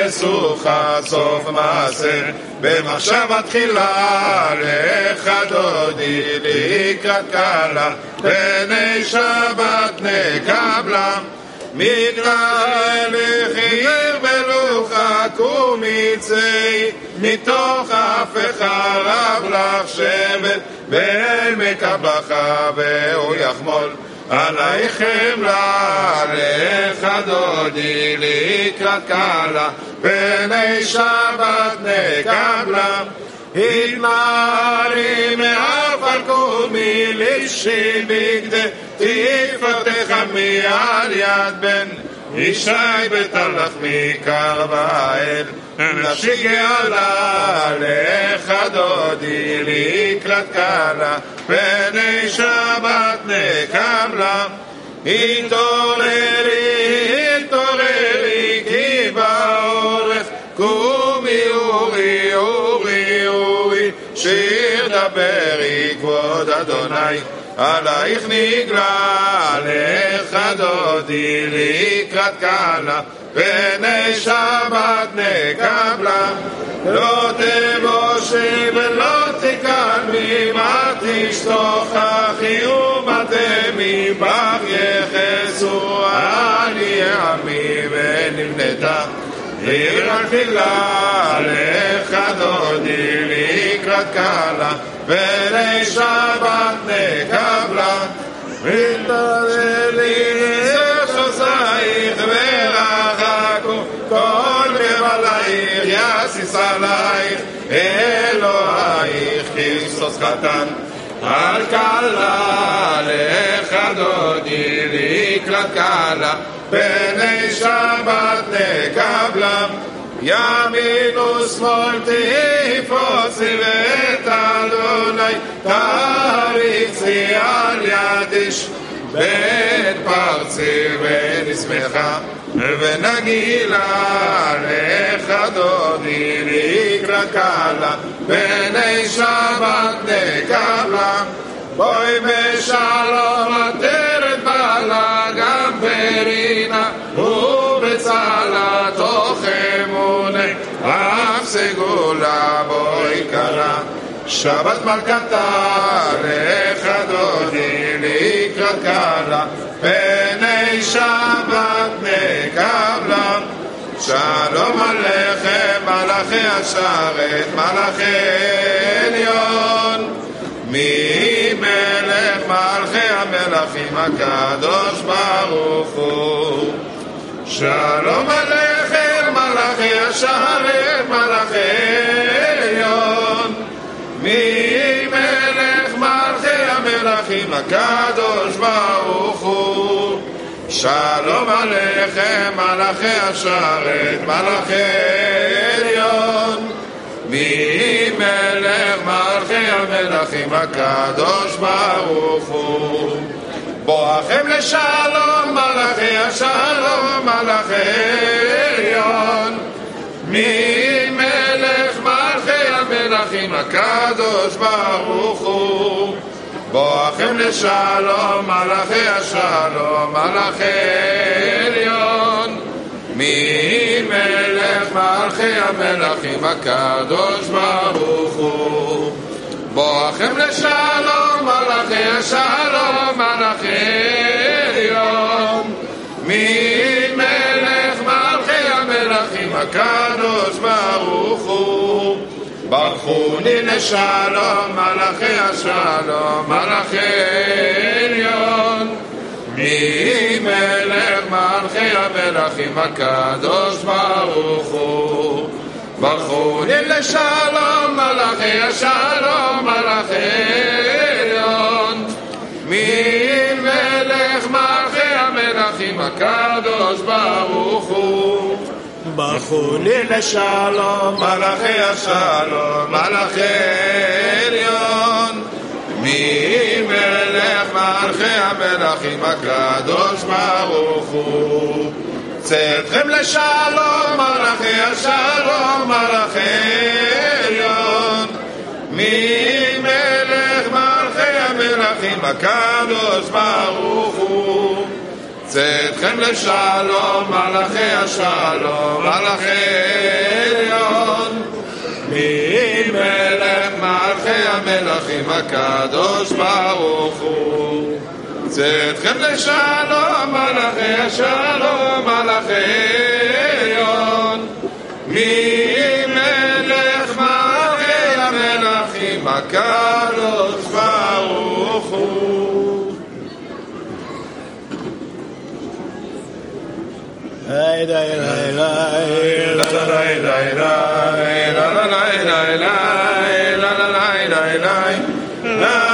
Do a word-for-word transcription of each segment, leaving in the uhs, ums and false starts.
וסוכה סוף מעשה, במחשבה תחילה לך דודי לקראת קלה, פני שבת נקבלה. מגרש לחיר בלוחה קומיצי, מתוך אף חרב לך שבט, ואל מקבחה והוא יחמול עלייך חמלה, לך דודי לקראת קלה, פני שבת נקבלה. התנערי מעפר קומי לישי בגדי, תפתח עמי על יד בן ישי בתלך מקרב האל, נפשי גאלה לך דודי לקראת קלה, פני שבת נקבלה. התעוררי התעוררי כי בעורף קומי אורי אורי אורי, שיר דברי כבוד אדוני, עלייך נגלה לך דודי לקראת קלה, פני שבת נקבלה. לא תבושי ולא תקלמי, מה תשתוכחי ומתמי, בך יחסו על יעמי ונבנתה עיר התפילה, לך דודי לקראת קלה, פני שבת נקבלה. התפללי לשוסייך ורחקו כל גבלייך, יסיס עלייך אלוהיך כריסטוס חתן על קלה, לך דודי לקראת קלה, פני שבת נקבלה. ימין ושמאל תפרוצי ואת אדוני תריצי על יד איש, בית פרצי ונשמחה ונגילה, לך דודי לקראת קלה, פני שבת נקבלה. בואי בשלום עטרת בעלה, גם ברינה ובצלה, תוך אמוני אף סגולה בואי קלה. שבת מלכתה, לך דודי לקראת קלה, פני שבת נקבלה. שלום עליכם מלאכי השרת, מלאכי עליון, מי מלך מלכי המלכים הקדוש ברוך הוא. שלום עליכם מלאכי השרת, מלאכי עליון, מי מלך מלכי המלכים הקדוש ברוך הוא. שלום עליכם מלאכי השרת, מלאכי עליון, מי מלך מלכי המלכים הקדוש ברוך הוא. בואכם לשלום מלאכי השלום, מלאכי עליון, מי מלך מלכי המלכים הקדוש ברוך הוא. בואכם לשלום מלאכי השלום, מלאכי עליון, מי מלך מלכי המלכים הקדוש ברוך הוא. בואכם לשלום מלאכי השלום, מלאכי עליון, מי מלך מלכי המלכים הקדוש ברוך הוא. ברכוני לשלום מלאכי השלום, מלאכי עליון, מי מלך מלכי המלכים הקדוש ברוך הוא. ברכוני לשלום מלאכי השלום, מלאכי עליון, מי מלך מלכי המלכים הקדוש ברוך הוא. ברכוני לשלום מלאכי השלום, מלאכי עליון, מי מלך מלכי המלכים הקדוש ברוך הוא. צאתכם לשלום מלאכי השלום, מלאכי עליון, מי מלך מלכי המלכים הקדוש ברוך הוא. צאתכם לשלום, מלאכי השלום, מלאכי עליון. מי מלך מלכי המלכים הקדוש ברוך הוא. צאתכם לשלום, מלאכי השלום, מלאכי עליון. מי מלך מלכי המלכים הקדוש ברוך הוא. Hey, hey, hey, hey, la la la la la la la la la la la la la la.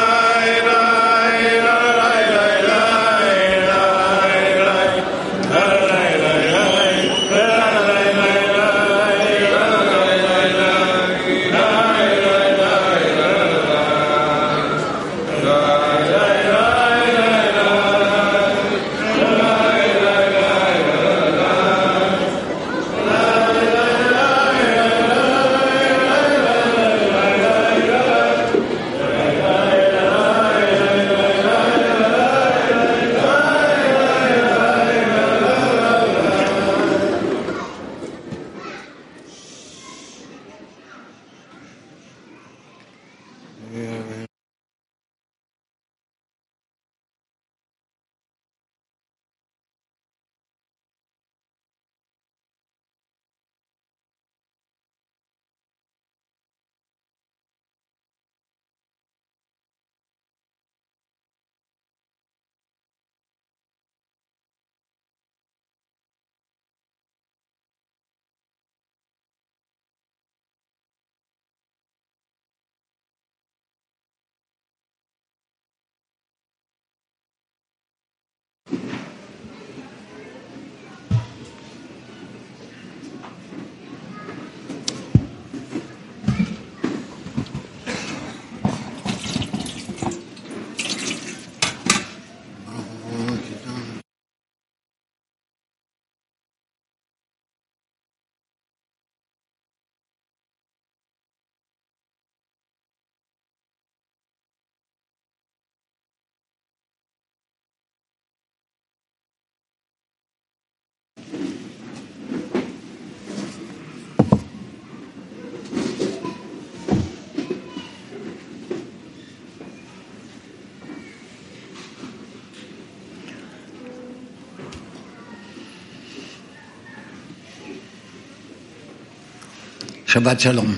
Shabbat Shalom.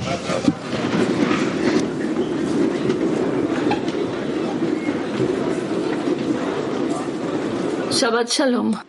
Shabbat Shalom.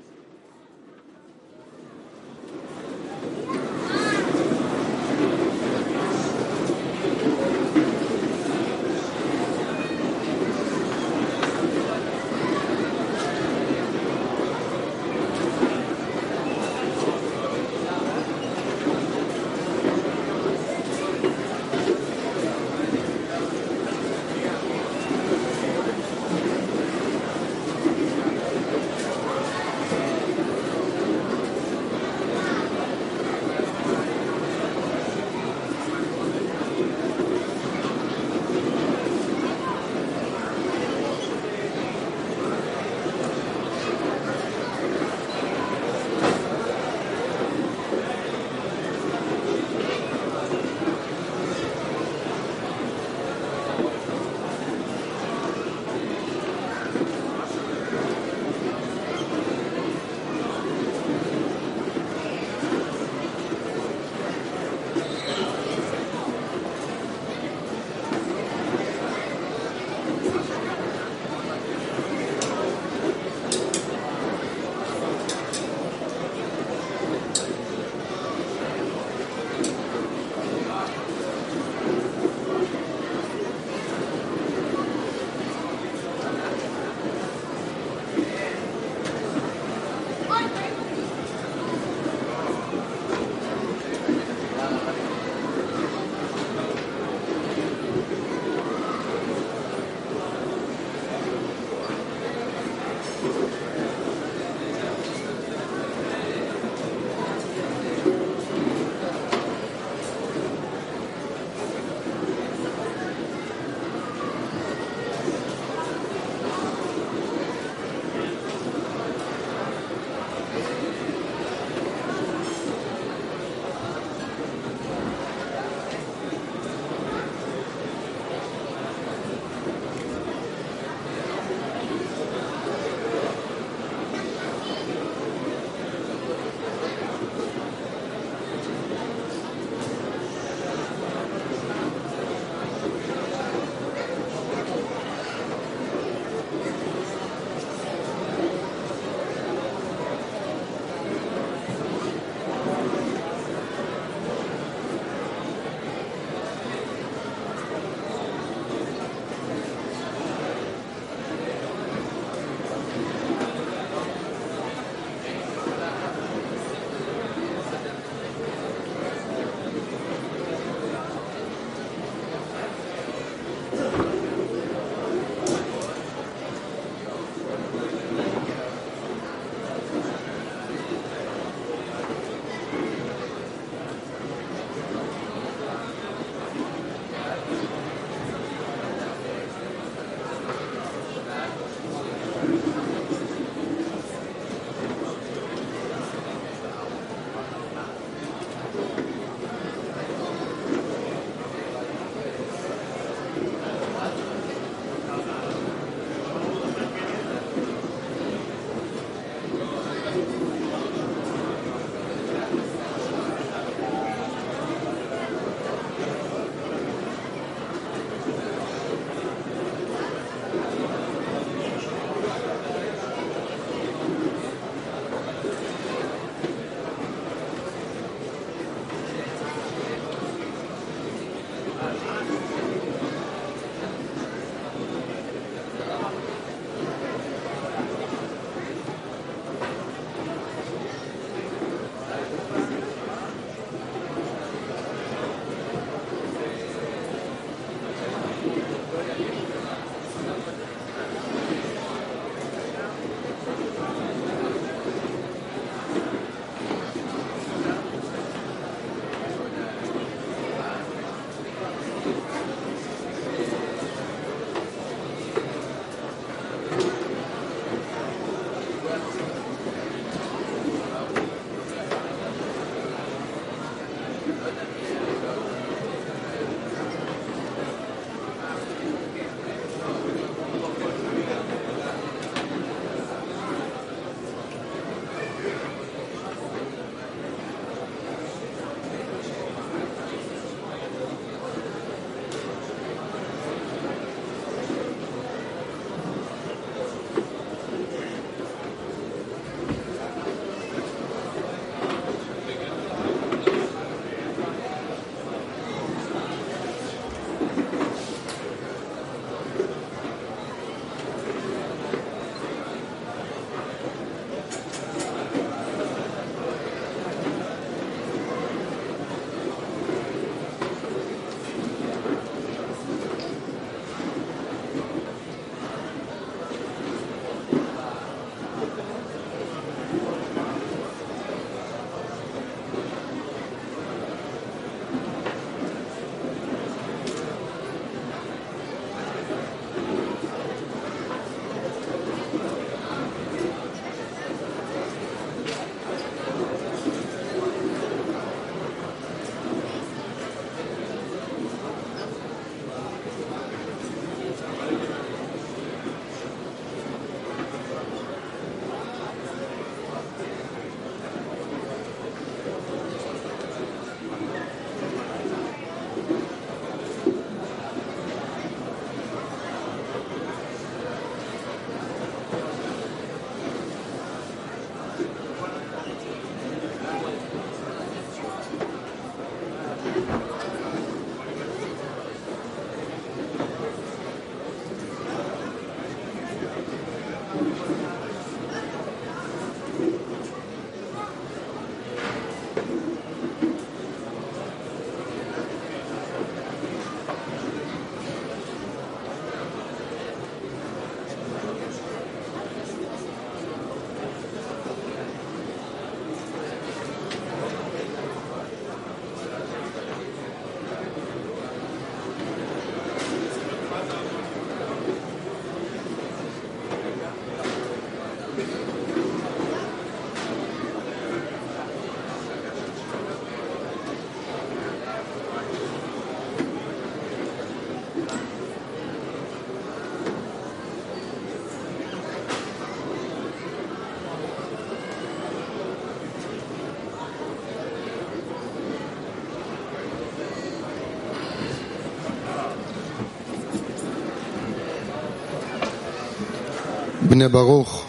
בני ברוך,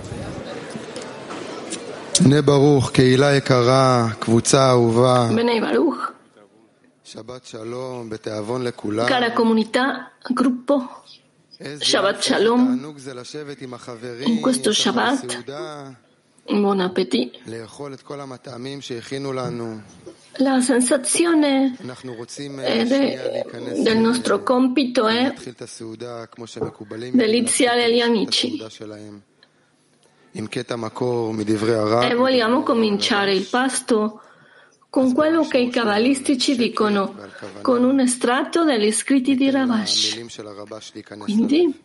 בני ברוך, קהילה יקרה, קבוצה אהובה. Bnei Baruch, שבת שלום, בתיאבון לכולם. cara comunità, gruppo, Shabbat Shalom. תענוג זה לשבת עם החברים, In questo Shabbat, סעודה, buon appetito. לאכול את כל המטעמים שהכינו לנו. La sensazione אנחנו רוצים eh, שנייה de- להיכנס del nostro compito è להתחיל את הסעודה כמו שמקובלים deliziare gli את amici הסעודה שלהם. עם קטע מקור מדברי הרב. e vogliamo cominciare il pasto con quello che i cabalistici dicono, con un estratto degli scritti di Ravash. המילים של הרבש להיכנס לזה. Quindi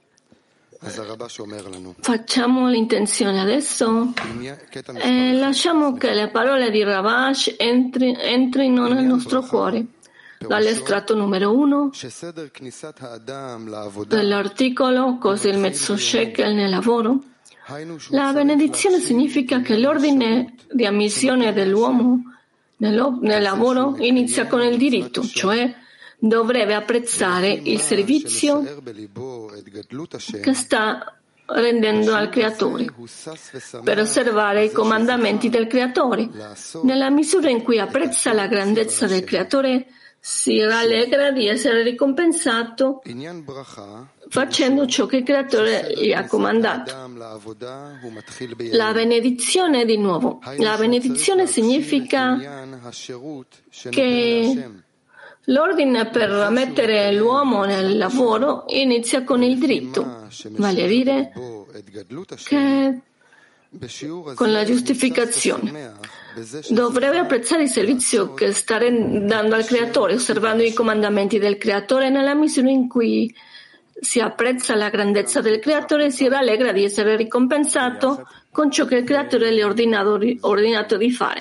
אז הרבש אומר לנו, facciamo l'intenzione adesso קטע e lasciamo che le parole di Ravash entri- entrino nel nostro cuore. Dall'estratto numero uno שסדר כניסת האדם לעבודה, dell'articolo Cos'è il mezzo shekel nel lavoro? היינו שהוא La benedizione significa che l'ordine di ammissione dell'uomo nel, nel lavoro inizia con il diritto, cioè dovrebbe apprezzare il servizio שמשער בליבו את גדלות השם, che sta rendendo al Creatore, הוא שש ושמח per osservare i comandamenti del Creatore. Nella misura in cui apprezza la grandezza del Creatore, si rallegra di essere ricompensato עניין ברכה, facendo ciò che il Creatore gli ha comandato. אדם לעבודה הוא מתחיל ביד. La benedizione di nuovo. La benedizione significa עניין השירות שנותן che להשם. l'ordine per mettere l'uomo nel lavoro inizia con il diritto, vale a dire בו את גדלות השם, che בשיעור הזה con la הוא giustificazione שש ושמח בזה dovrebbe apprezzare il servizio che sta dando al Creatore, osservando i comandamenti del Creatore. Nella misura in cui si apprezza la grandezza del Creatore, si rallegra di essere ricompensato con ciò che il Creatore le ha ordinato, ordinato di fare.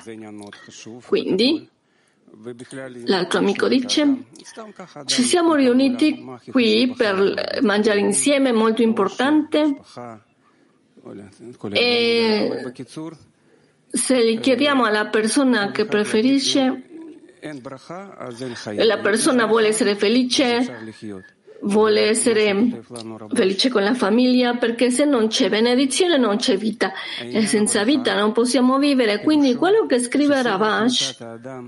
Quindi, l'altro amico dice, ci siamo riuniti qui per mangiare insieme, è molto importante, e se gli chiediamo alla persona che preferisce, la persona vuole essere felice, vuole essere felice con la famiglia, perché se non c'è benedizione non c'è vita e senza vita non possiamo vivere. Quindi quello che scrive Ravash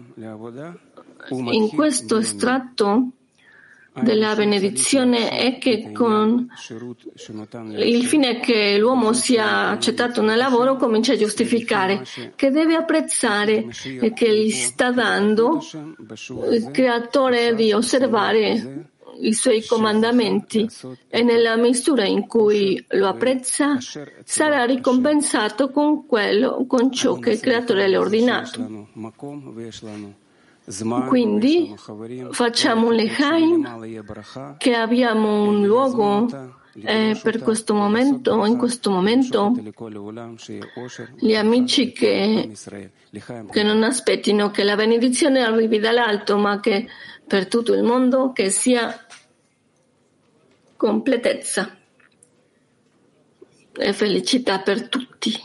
in questo estratto della benedizione è che con il fine che l'uomo sia accettato nel lavoro comincia a giustificare che deve apprezzare e che gli sta dando il Creatore di osservare i suoi comandamenti, e nella misura in cui lo apprezza sarà ricompensato con quello, con ciò che il Creatore le ha ordinato. Quindi facciamo un lechaim, che abbiamo un luogo eh, per questo momento, in questo momento gli amici che, che non aspettino che la benedizione arrivi dall'alto, ma che per tutto il mondo che sia completezza e felicità per tutti.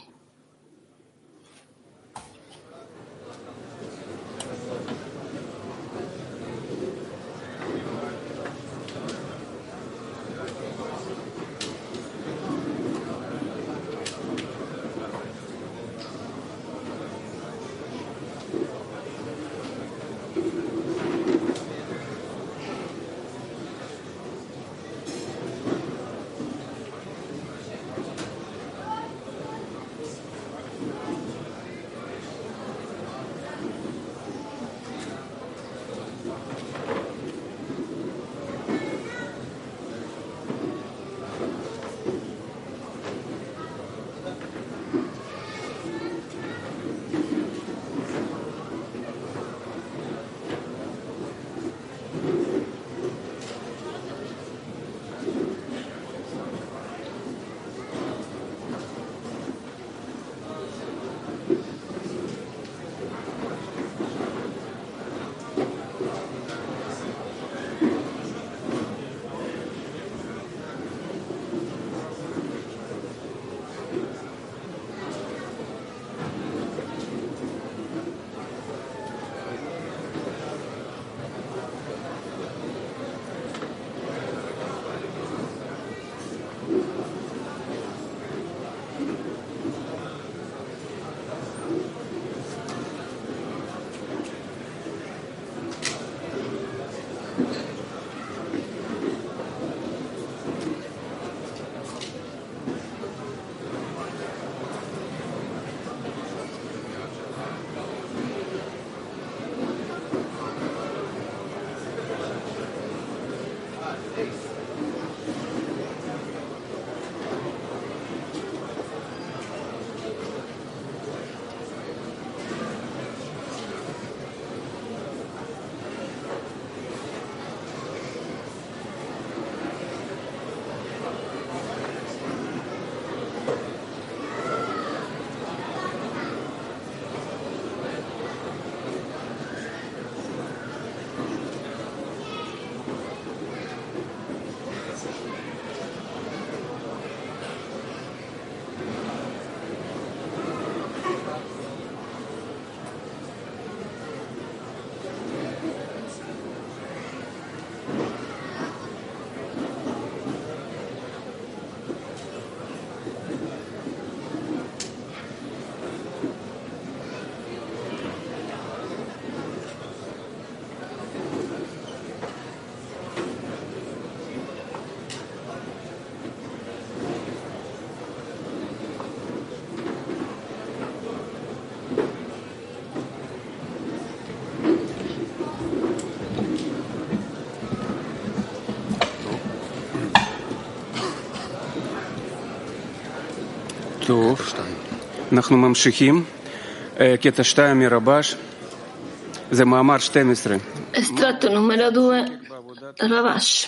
טוב, אנחנו ממשיכים. קטע שתיים מרבש, זה מאמר שתים עשרה. Estratto numero due, Ravash.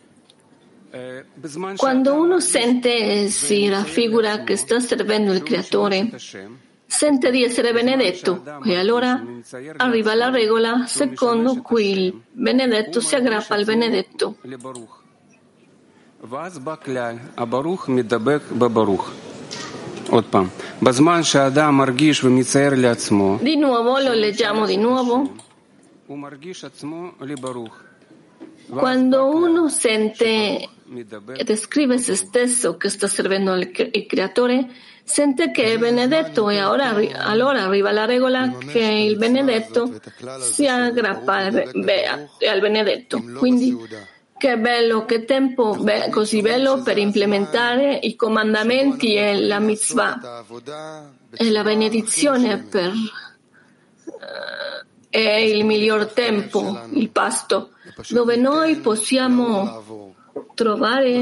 Quando uno sente e si raffigura che sta servendo il Creatore, sente di essere benedetto e allora arriva la regola secondo cui il benedetto si aggrappa al benedetto. Di nuovo, lo leggiamo di nuovo. Quando uno sente e descrive se stesso che sta servendo il Creatore, sente che è benedetto e ora, allora arriva la regola che il benedetto si aggrappa al, be, al benedetto. Quindi, che bello, che tempo be, così bello per implementare i comandamenti e la mitzvah e la benedizione per, uh, è il miglior tempo, il pasto, dove noi possiamo trovare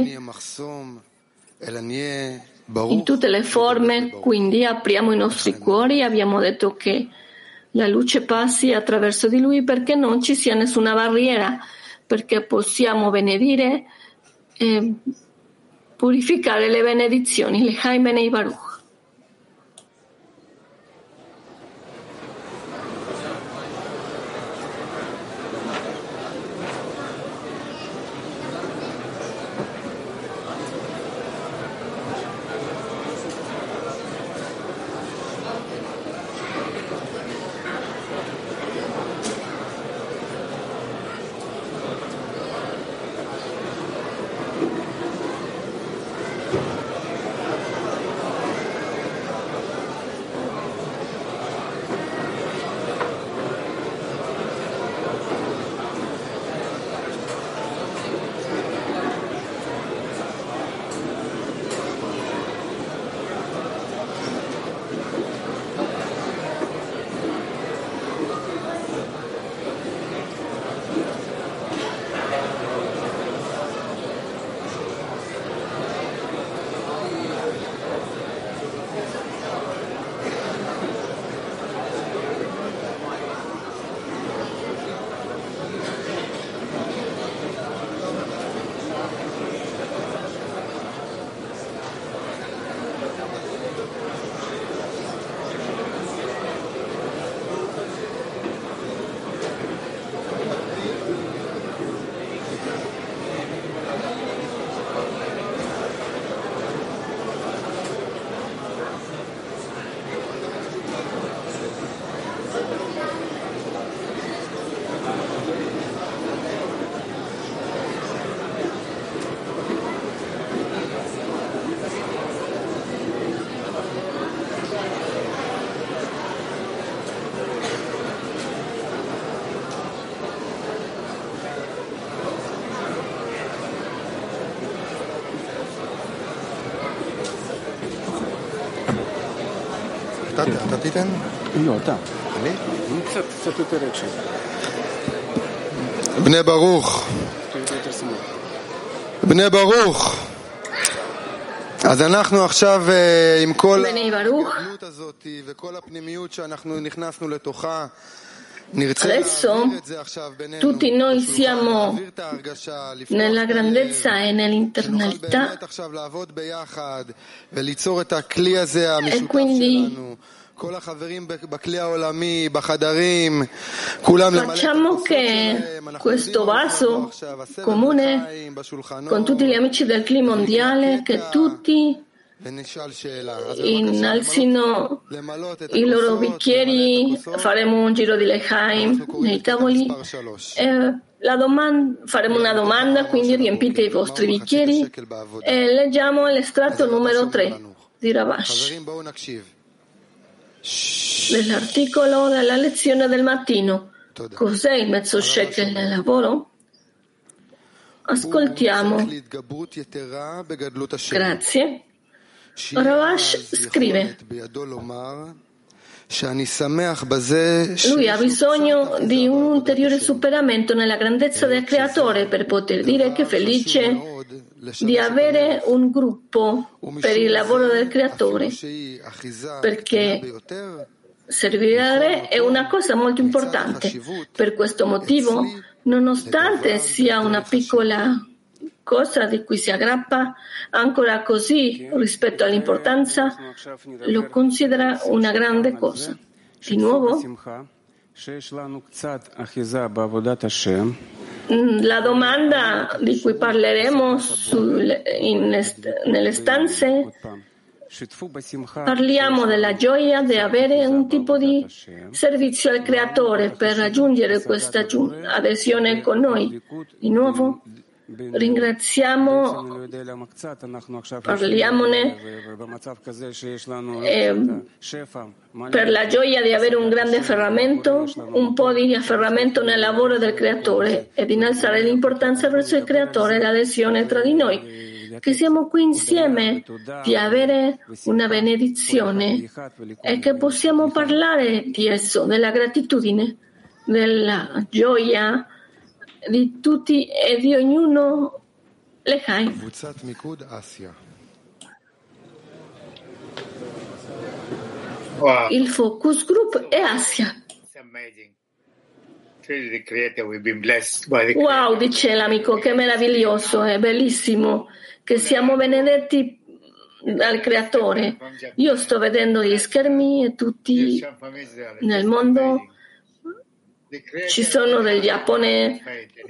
in tutte le forme. Quindi apriamo i nostri cuori, abbiamo detto che la luce passi attraverso di lui perché non ci sia nessuna barriera, perché possiamo benedire e purificare le benedizioni. L'Echaim Benei Baruch. אתה תיתן? לא, אתה. אני? קצת, קצת יותר רגשי. בני ברוך. בני ברוך. אז אנחנו עכשיו עם כל הגלות הזאת וכל הפנימיות שאנחנו נכנסנו לתוכה, Adesso tutti noi siamo nella grandezza e nell'internalità e quindi facciamo che questo vaso comune con tutti gli amici del clima mondiale, che tutti innalzino i loro bicchieri, faremo un giro di L'Echaim nei tavoli e la domanda, faremo una domanda, quindi riempite i vostri bicchieri e leggiamo l'estratto numero tre di Ravash dell'articolo della lezione del mattino. Cos'è il mezzo shekel nel lavoro? Ascoltiamo. Grazie. Ravash scrive: lui ha bisogno di un ulteriore superamento nella grandezza del Creatore per poter dire che è felice di avere un gruppo per il lavoro del creatore, perché servire è una cosa molto importante. Per questo motivo, nonostante sia una piccola cosa di cui si aggrappa, ancora così rispetto all'importanza, lo considera una grande cosa. Di nuovo, la domanda di cui parleremo sul, in est, nelle stanze, parliamo della gioia di avere un tipo di servizio al creatore per raggiungere questa adesione con noi. Di nuovo, ringraziamo, parliamone eh, per la gioia di avere un grande afferramento, un po' di afferramento nel lavoro del creatore e di innalzare l'importanza verso il creatore e l'adesione tra di noi, che siamo qui insieme, di avere una benedizione e che possiamo parlare di esso, della gratitudine, della gioia di tutti e di ognuno. Lechai. Il focus group è Asia. Wow, dice l'amico, che meraviglioso, è bellissimo che siamo benedetti dal creatore. Io sto vedendo gli schermi e tutti nel mondo ci sono del Giappone.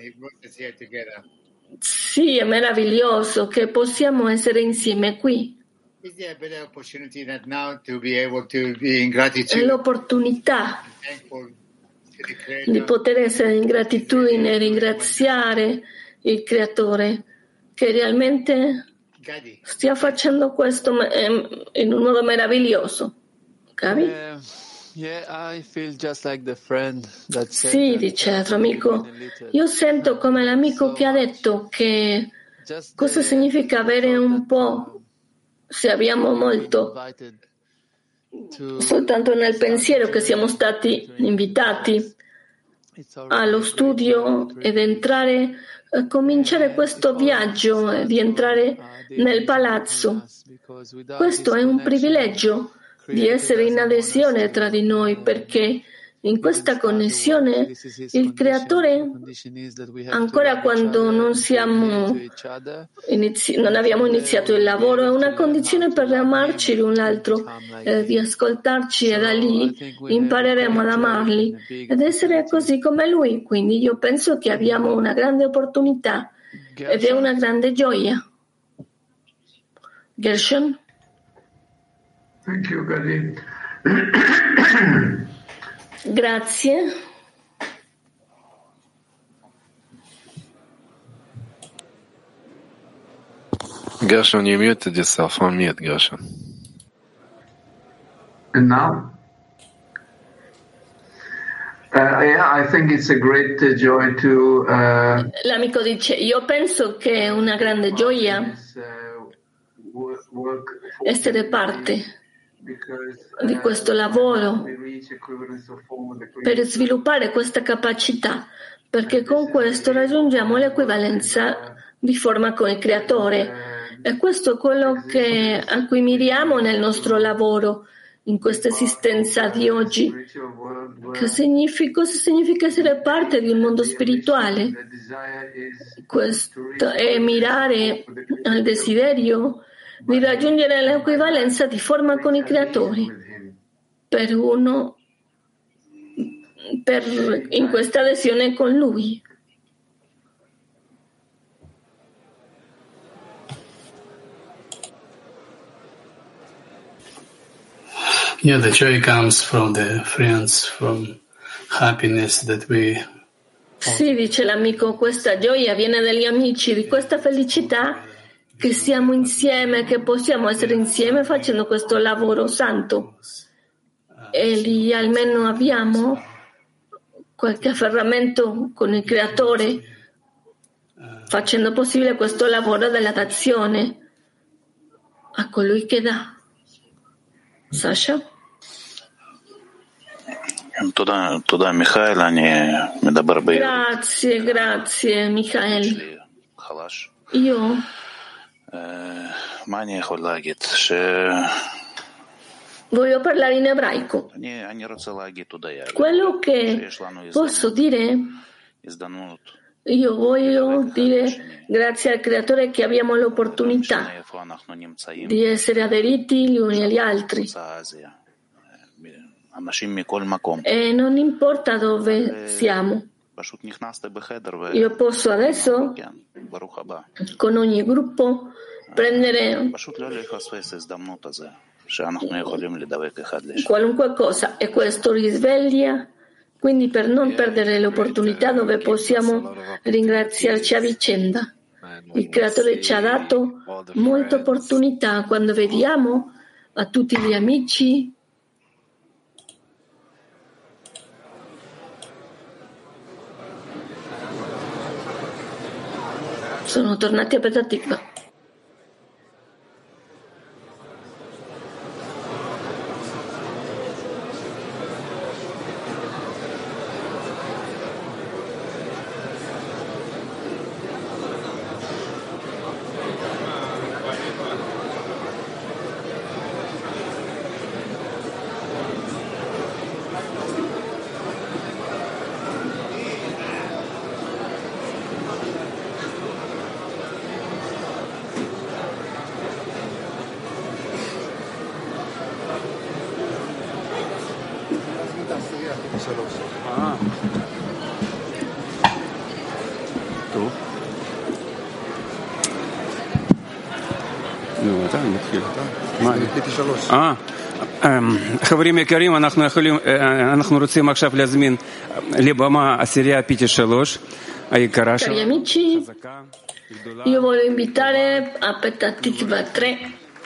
Sì, è meraviglioso che possiamo essere insieme qui. È l'opportunità di poter essere in gratitudine e ringraziare il creatore che realmente stia facendo questo in un modo meraviglioso. Capi? Sì, dice l'altro amico, io sento come l'amico che ha detto che cosa significa avere un po' se abbiamo molto, soltanto nel pensiero che siamo stati invitati allo studio ed entrare, cominciare questo viaggio di entrare nel palazzo. Questo è un privilegio di essere in adesione tra di noi, perché in questa connessione il creatore, ancora quando non siamo inizi- non abbiamo iniziato il lavoro, è una condizione per amarci l'un l'altro, eh, di ascoltarci, e da lì impareremo ad amarli ed essere così come lui. Quindi io penso che abbiamo una grande opportunità ed è una grande gioia. Gershon? Thank you, Gadi. Grazie. Gershon, you muted yourself. Unmute, Gershon. And now? Uh, yeah, I think it's a great uh, joy to... Uh, L'amico dice, io penso che è una grande gioia essere parte di questo lavoro per sviluppare questa capacità, perché con questo raggiungiamo l'equivalenza di forma con il creatore, e questo è quello che, a cui miriamo nel nostro lavoro in questa esistenza di oggi. Che significa, cosa significa essere parte di un mondo spirituale? Questo è mirare al desiderio di raggiungere l'equivalenza di forma con i creatori per uno per, in questa adesione con lui. Yeah, the joy comes from the friends, from happiness that we... Sì, dice l'amico, questa gioia viene dagli amici, di questa felicità che siamo insieme, che possiamo essere insieme facendo questo lavoro santo. E lì almeno abbiamo qualche afferramento con il creatore, facendo possibile questo lavoro della dazione a colui che dà. Sasha? Grazie, grazie, Michael. Io Voglio parlare in ebraico. Quello che posso dire, io voglio dire grazie al Creatore che abbiamo l'opportunità di essere aderiti gli uni agli altri. E non importa dove siamo. Io posso adesso, con ogni gruppo, prendere qualunque cosa e questo risveglia, quindi per non perdere l'opportunità dove possiamo ringraziarci a vicenda. Il Creatore ci ha dato molte opportunità quando vediamo a tutti gli amici sono tornati a Petah Tikva. אה, חברים יקרים, אנחנו יכולים, אנחנו רוצים עכשיו להזמין לבמה עשירייה פיטי שלוש, היקרה Cari amici, io voglio invitare a Petah Tikva tre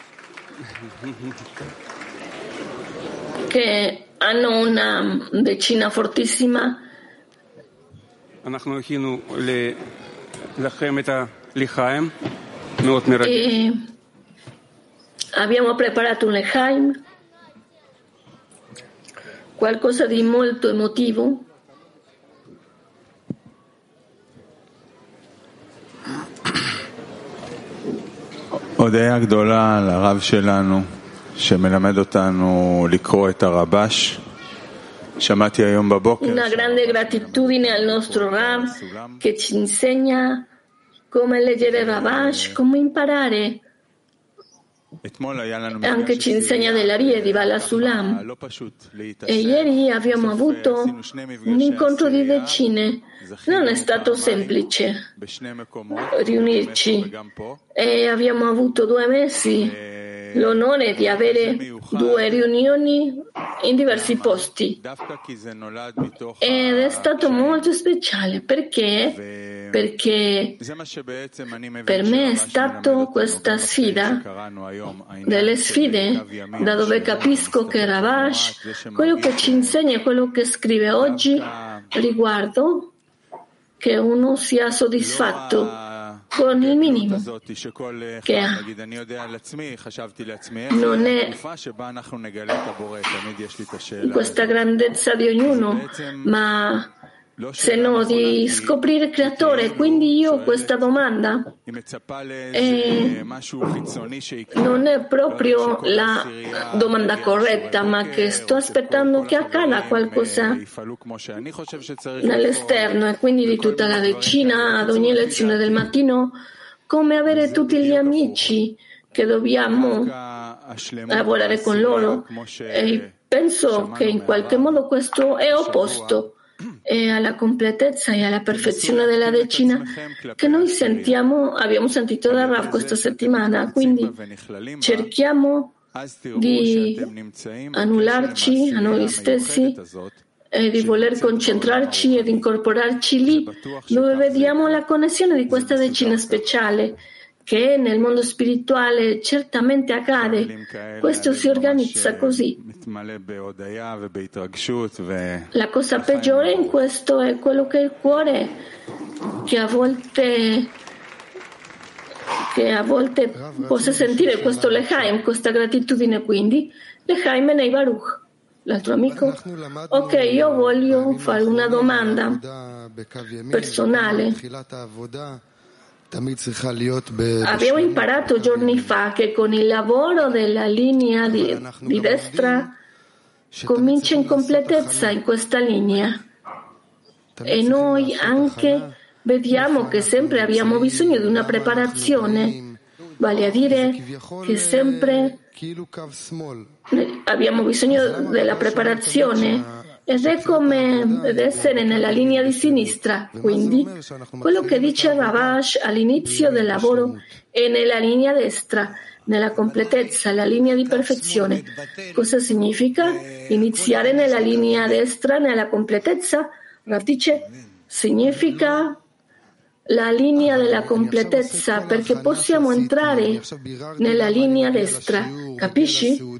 che hanno una decina fortissima. אנחנו הכינו לכם את הלחיים, מאוד מרגש. Abbiamo preparato un lechaim, qualcosa di molto emotivo. הודיה גדולה לרב שלנו שמלמד אותנו לקרוא את הרבש. שמעתי היום בבוקר. Una grande gratitudine al nostro Rav che ci insegna come leggere Rabash, come imparare. E anche ci insegna della Ria di Bala Sulam. E ieri abbiamo avuto un incontro di decine. Non è stato semplice riunirci e abbiamo avuto due mesi l'onore di avere due riunioni in diversi posti ed è stato molto speciale perché perché per me è stato questa sfida delle sfide da dove capisco che Rabash quello che ci insegna e quello che scrive oggi riguardo che uno sia soddisfatto con il minimo che ha. Non è questa grandezza di ognuno, ma se no di scoprire il creatore. Quindi io questa domanda eh, non è proprio la domanda corretta, ma che sto aspettando che accada qualcosa nell'esterno e quindi di tutta la decina ad ogni lezione del mattino, come avere tutti gli amici che dobbiamo lavorare con loro. E penso che in qualche modo questo è opposto e alla completezza e alla perfezione della decina che noi sentiamo, abbiamo sentito da Rav questa settimana. Quindi cerchiamo di annullarci a noi stessi e di voler concentrarci ed incorporarci lì dove vediamo la connessione di questa decina speciale che nel mondo spirituale certamente accade. Questo si organizza così. La cosa peggiore in questo è quello che è il cuore, che a volte che a volte possa sentire questo lechaim, questa gratitudine. Quindi lechaim nei Baruch. L'altro amico? Ok, io voglio fare una domanda personale. Abbiamo imparato giorni fa che con il lavoro della linea di, di destra comincia in completezza in questa linea. E noi anche vediamo che sempre abbiamo bisogno di una preparazione, vale a dire che sempre abbiamo bisogno della preparazione ed è come ed essere nella linea di sinistra. Quindi quello che dice Ravash all'inizio del lavoro è nella linea destra, nella completezza, la linea di perfezione. Cosa significa iniziare nella linea destra, nella completezza? Rav dice significa la linea della completezza, perché possiamo entrare nella linea destra. Capisci?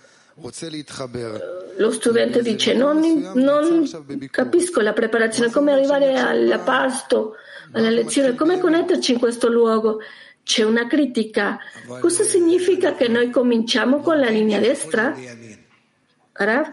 Lo studente dice non, non capisco la preparazione, come arrivare al pasto, alla lezione, come connetterci in questo luogo. C'è una critica. Cosa significa che noi cominciamo con la linea destra? Rav?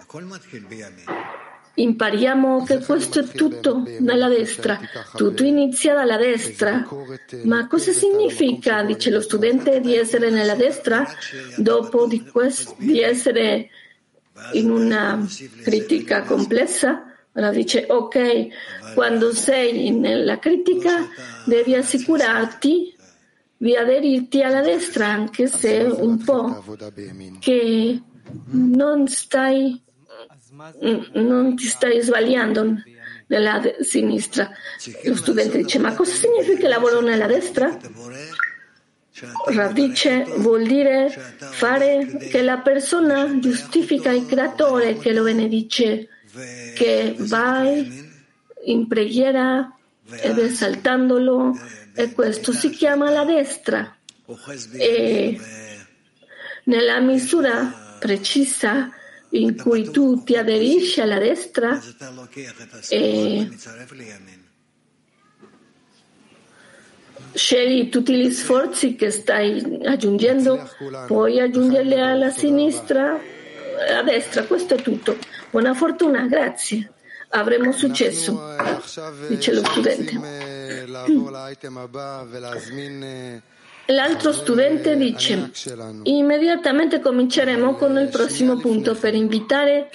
Impariamo che questo è tutto nella destra, tutto inizia dalla destra. Ma cosa significa, dice lo studente, di essere nella destra dopo di, quest- di essere in una critica complessa? Allora dice ok, quando sei nella critica devi assicurarti di aderirti alla destra, anche se un po' che non stai non ti stai sbagliando nella de- sinistra. Lo studente dice ma cosa significa lavoro nella destra? Rav dice vuol dire fare che la persona giustifica il creatore, che lo benedice, che vai in preghiera ed esaltandolo, e questo si chiama la destra. E nella misura precisa in cui tu ti aderisci alla destra e scegli tutti gli sforzi che stai aggiungendo, puoi aggiungerli alla sinistra, a destra, questo è tutto. Buona fortuna, grazie. Avremo successo, dice lo studente. L'altro studente dice immediatamente cominceremo con il prossimo punto per invitare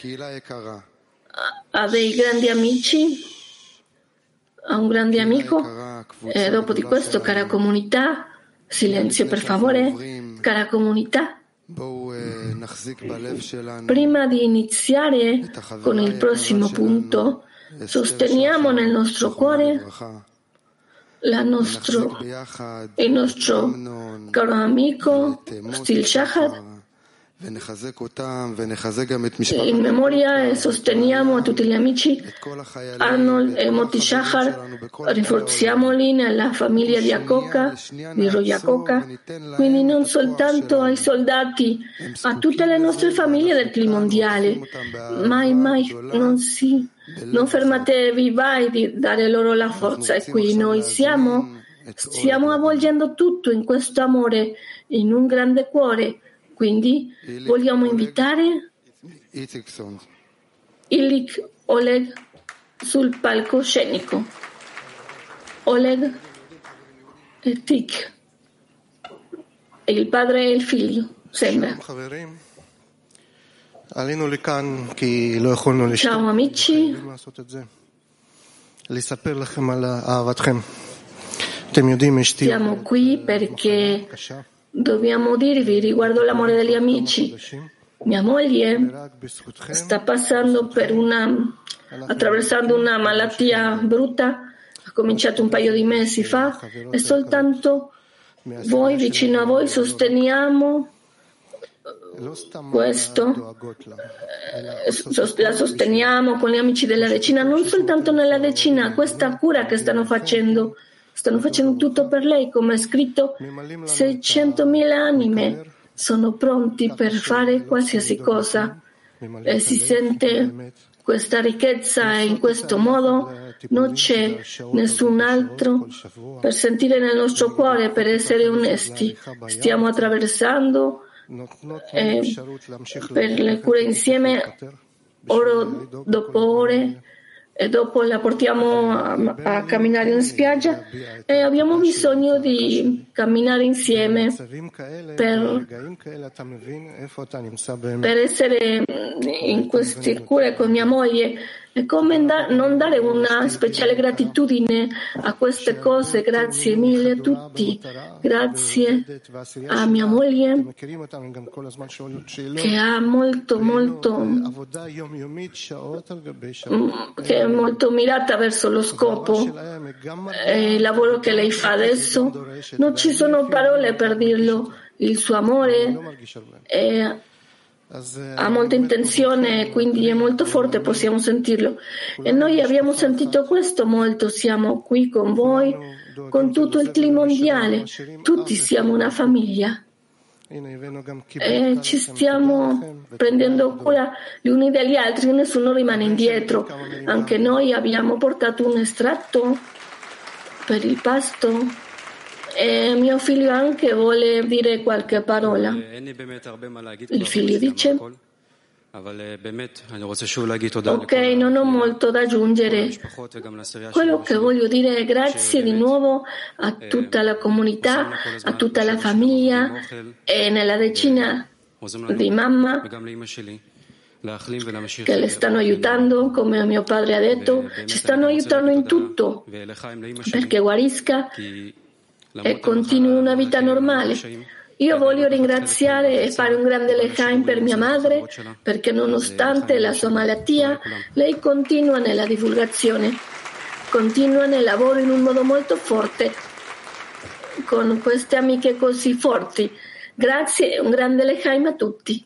a dei grandi amici, a un grande amico, e dopo di questo, cara comunità, silenzio per favore, cara comunità, prima di iniziare con il prossimo punto, sosteniamo nel nostro cuore La nostro, il nostro caro amico Stil Shahar, in memoria, e sosteniamo a tutti gli amici Arnold e Moti Shahar, rinforziamoli nella famiglia di Akoka, di Royakoka, quindi non soltanto ai soldati, a tutte le nostre famiglie del clima mondiale. Mai, mai non si, non fermatevi mai di dare loro la forza. E qui noi siamo, stiamo avvolgendo tutto in questo amore, in un grande cuore. Quindi vogliamo invitare Ilik Oleg sul palcoscenico. Oleg e Tik, il padre e il figlio, sembra. Ciao amici. Siamo qui perché dobbiamo dirvi riguardo l'amore degli amici. Mia moglie sta passando per una, attraversando una malattia brutta, ha cominciato un paio di mesi fa, e soltanto voi, vicino a voi, sosteniamo questo, la sosteniamo con gli amici della decina, non soltanto nella decina, questa cura che stanno facendo. Stanno facendo tutto per lei, come è scritto, seicentomila anime sono pronti per fare qualsiasi cosa, e si sente questa ricchezza, e in questo modo non c'è nessun altro per sentire nel nostro cuore, per essere onesti. Stiamo attraversando eh, per le cure insieme, ore dopo ore, e dopo la portiamo a, a camminare in spiaggia e abbiamo bisogno di camminare insieme per, per essere in queste cure con mia moglie. E come da, non dare una speciale gratitudine a queste cose? Grazie mille a tutti, grazie a mia moglie che ha molto molto che è molto mirata verso lo scopo e il lavoro che lei fa adesso. Non ci sono parole per dirlo, il suo amore è ha molta intenzione, quindi è molto forte, possiamo sentirlo. E noi abbiamo sentito questo molto, siamo qui con voi, con tutto il team mondiale, tutti siamo una famiglia. E ci stiamo prendendo cura gli uni degli altri, nessuno rimane indietro. Anche noi abbiamo portato un estratto per il pasto. E mio figlio anche vuole dire qualche parola. Il figlio dice: ok, non ho molto da aggiungere. Quello che voglio dire è grazie di nuovo a tutta la comunità, a tutta la famiglia e nella decina di mamma che le stanno aiutando, come mio padre ha detto, ci stanno aiutando in tutto perché guarisca e continui una vita normale. Io voglio ringraziare e fare un grande lechaim per mia madre, perché nonostante la sua malattia, lei continua nella divulgazione, continua nel lavoro in un modo molto forte, con queste amiche così forti. Grazie e un grande lechaim a tutti.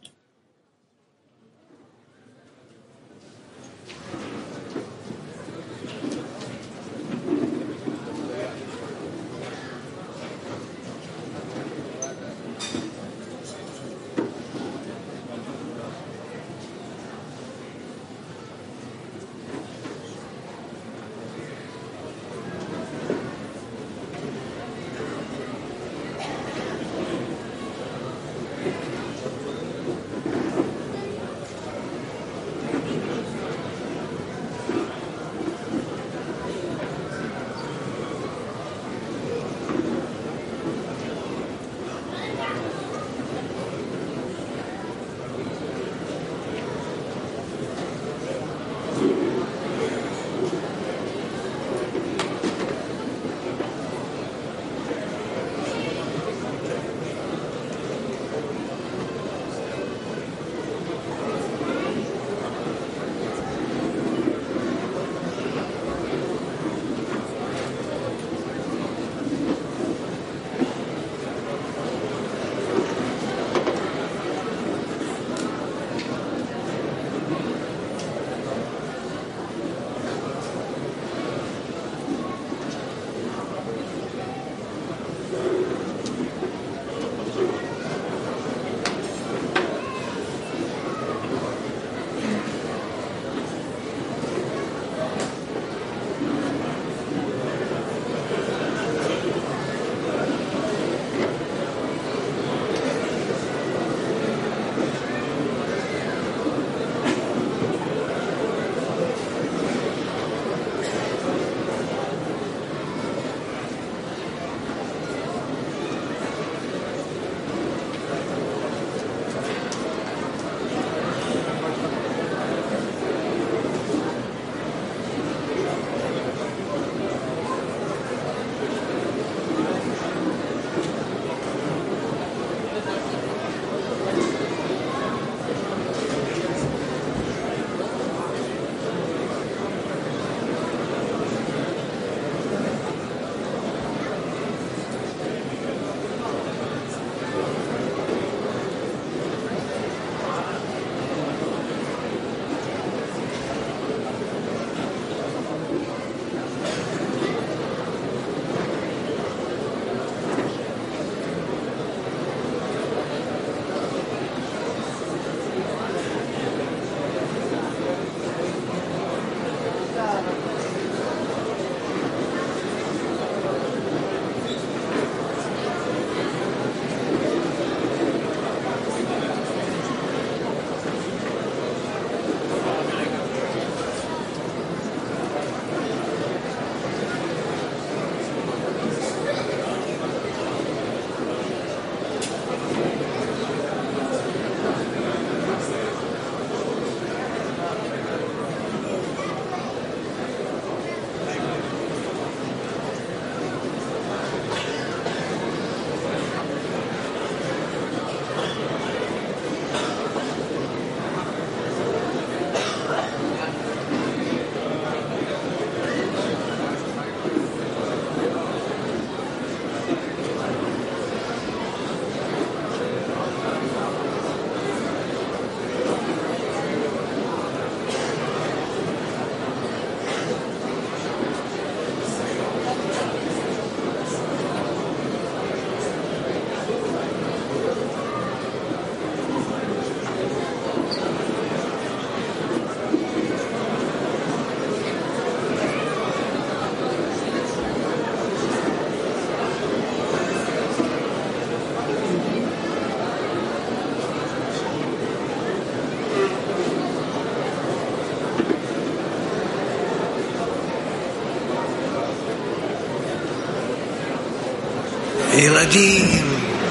ילדים.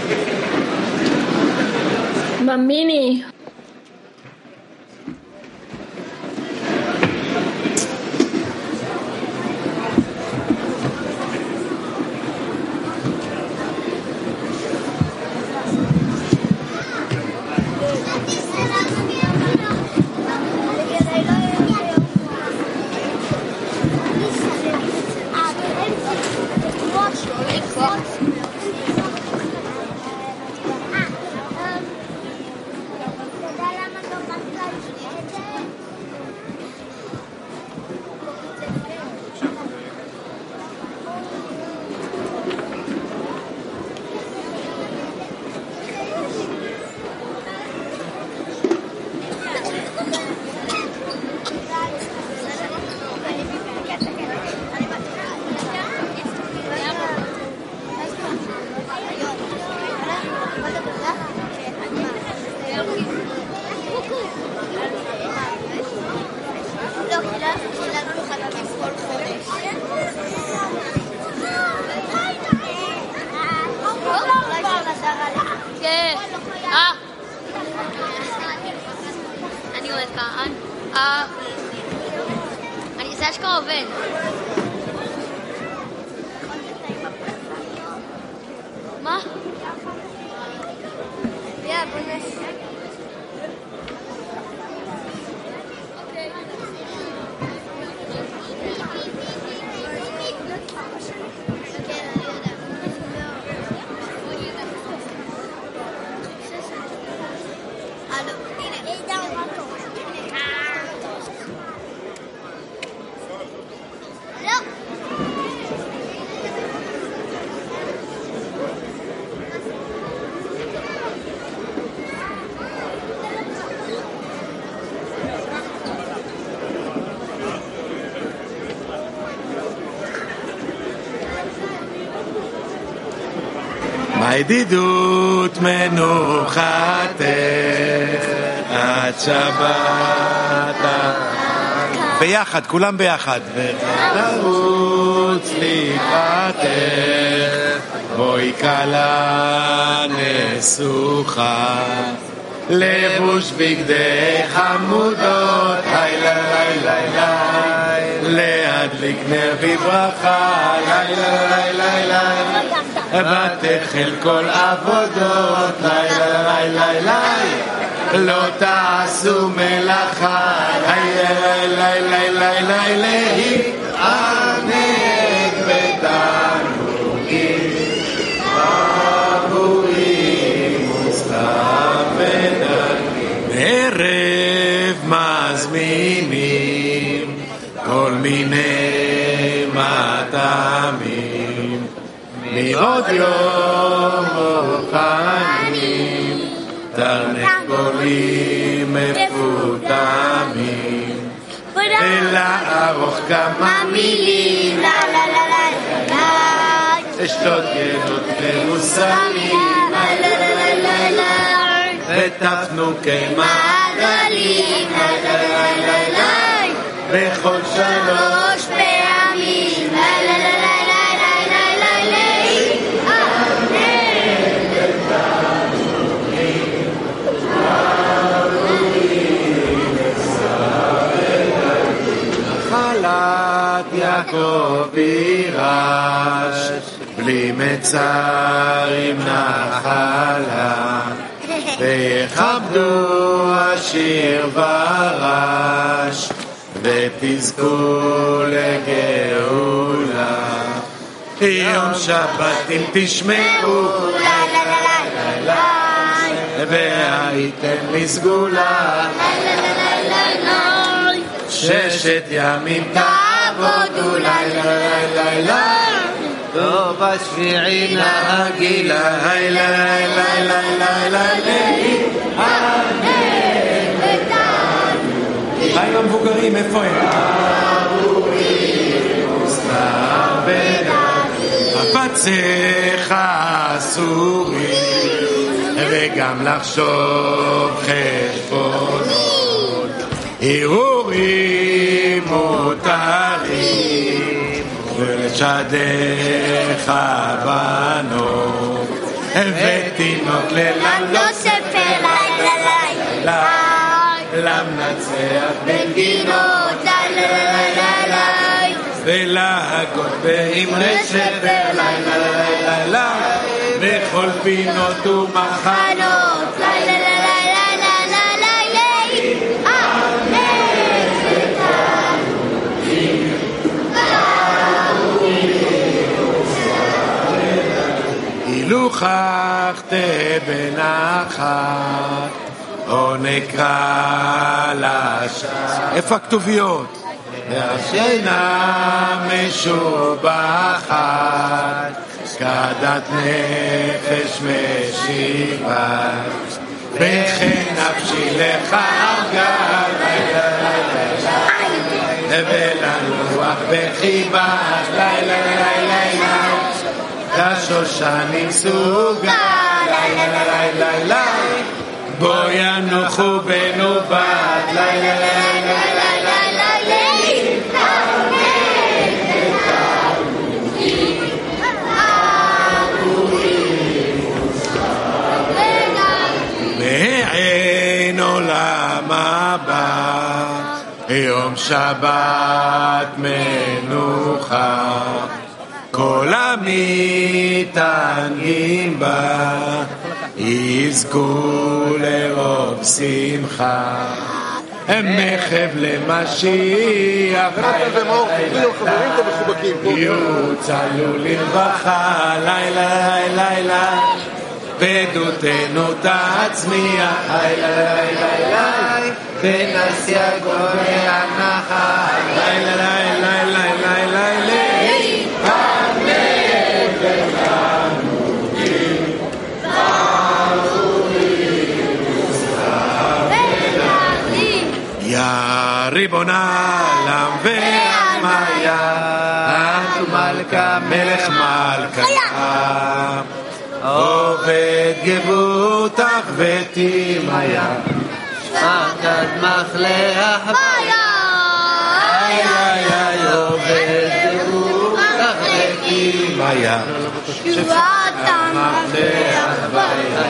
Bambini. הידידות מנוחתך עד שבת ביחד, כולם ביחד ותרוץ לקראתך בואי כלה נסוכה לבוש בגדי חמודות לילה לילה לילה להדליק נר בברכה לילה לילה לילה ותחל כל עבודות לילה לילה לילה לא תעשו מלאכה לילה לילה לילה להתענג בתענוגים עבורים וסתם ונגים ערב מזמינים כל מיני מטעמים מעוד יום מוכנים תרנגולים מפותמים ולערוך כמה מילים לה לה לה לה לה אשתות ילדות מרוסמים לה לה לה לה לה ותפנוקי מעגלים לה לה לה לה לה בכל שלוש פעמים לה לה לה לה יעקב יירש בלי מצרים נחלה ויכבדו השיר ורש ותזכו לגאולה יום שבת אם תשמעו והייתם לסגולה ששת ימים תעבודו לילה לילה לילה טוב השביעי נהגילה לילה לילה לילה לילה מה עם המבוגרים? איפה הם? חפציך אסורים וגם לחשוב חשבונות הרהורים מותרים ולשדך בנו ותינוק ללם לא ספר לילה לילה למנצח בנגינות לילה לילה ולהגות באמרי שפר לילה לילה בכל פינות ומחנות לילה לילה לילה לילה אילו חכת בנחת או נקרא לשעה איפה הכתוביות? והשינה משובחת כדת נפש משיבה וכן נפשי לך ארגה לילה לילה ולנוח בחיבה לילה לילה כשושנים סוגה לילה לילה לילה בו ינוחו בנובת לילה לילה לילה בעין עולם הבא יום שבת מנוחה כל המתענגים בה יזכו לרוב שמחה מחב למשיח יוצלו לרווחה לילה לילה בדותנו תצמיח לילה לילה ונשיא גורי הנחל לילה לילה לילה לילה יא ריבון העולם והמיה את מלכה מלך מלכה עובד גבותך ותימיה שפקד מחלך ביה איי איי עובד גבותך ותימיה שפקד מחלך ביה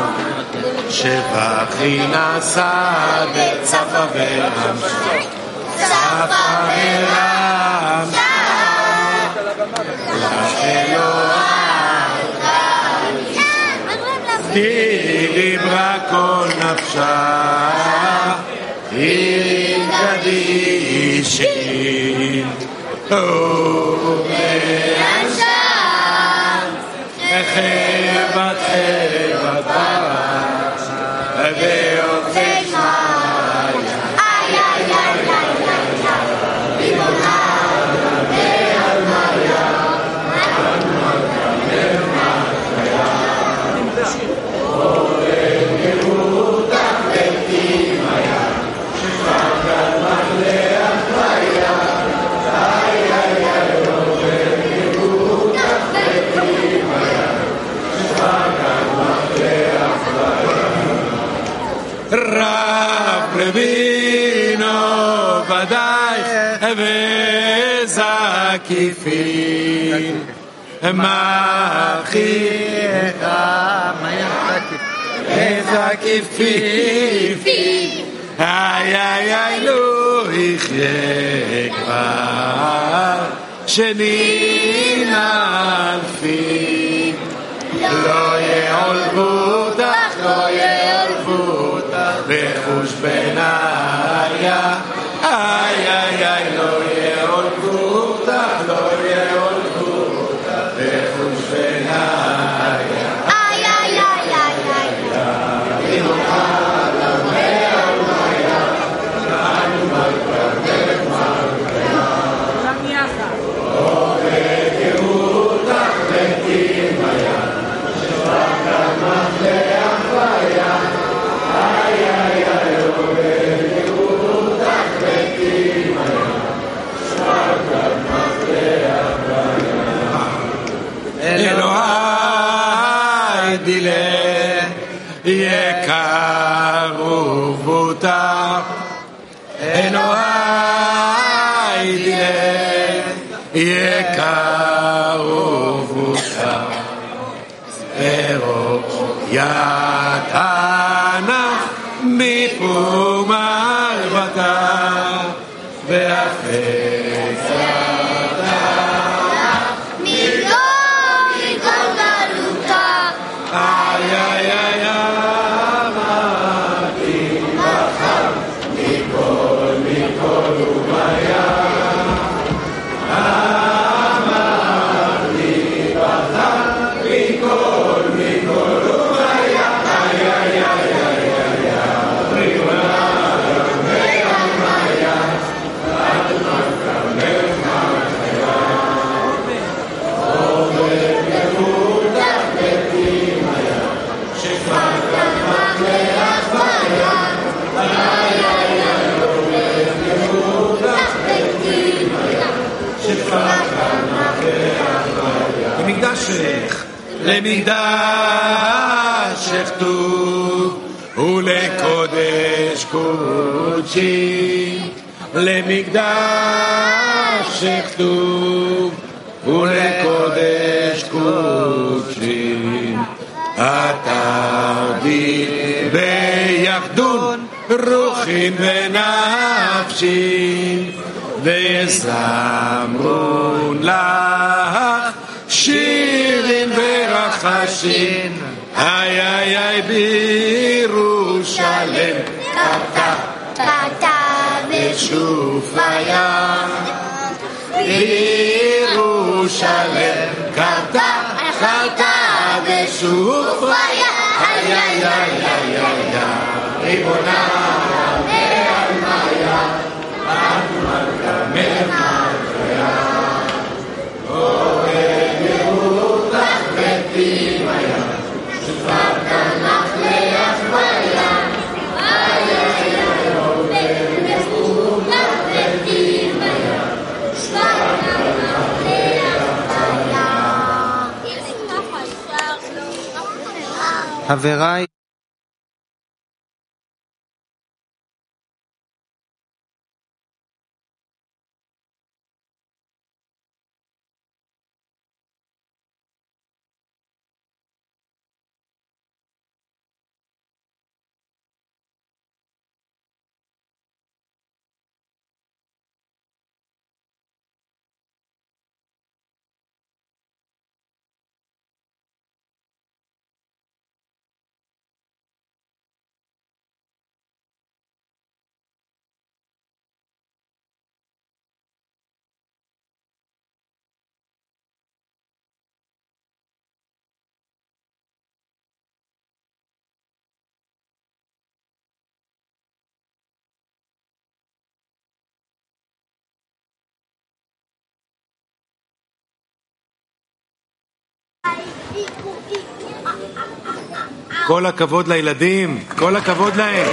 שבחי נסע בצפה ורם צפה ורם היא דיברה כל נפשה היא קדישי ומאנשה חבת חבת ויוצא שמיה איי איי איי ריבונה והמיה עובד גבותך ותימיה שפקד מחלך ביה איי איי איי עובד גבותך ותימיה שפקד מחלך ביה רב רבינו ודאי וזקיפין מאחיך וזקיפין איי איי איי לא יחיה כבר שנים אלפים לא יעולבו אותך לא יעולבו אותך בחוש בניה איי איי איי לא יעולבו אותך לא יעולבו אותך בחוש בניה איי איי איי איי איי רב רבינו בקרובותך ארוך יתנה מפום ערבתה והחצתה מכל מכל גלותה איי איי איי אמרתי בחר מכל מכל ומיה אמרתי בחר מכל מכל ומיה איי איי איי למקדשך, למקדשך טוב ולקודש קודשי למקדשך טוב ולקודש קודשי התרדי ביחדון רוחין ונפשין וזמרון לך שירים ורחשים איי איי איי בירושלם קרתה קרתה ושופיה בירושלם קרתה קרתה ושופיה איי איי איי איי איי ריבונה ועלמיה את מלכה מלכה חבריי כל הכבוד לילדים, כל הכבוד להם.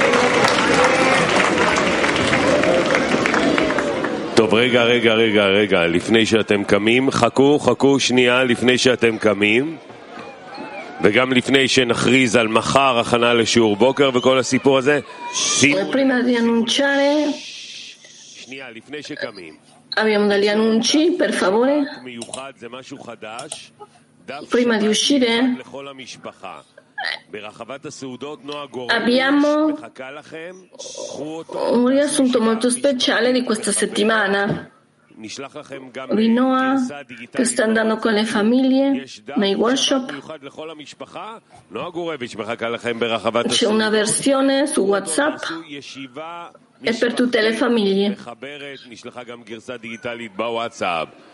טוב, רגע, רגע, רגע, רגע, לפני שאתם קמים, חכו, חכו שנייה לפני שאתם קמים, וגם לפני שנכריז על מחר הכנה לשיעור בוקר וכל הסיפור הזה. Prima di annunciare, שנייה, לפני שקמים. abbiamo degli annunci, per favore. מיוחד זה משהו חדש. Prima di uscire abbiamo un riassunto molto speciale di questa settimana di Noah che sta andando con le famiglie nei workshop. C'è una versione su WhatsApp e per tutte le famiglie.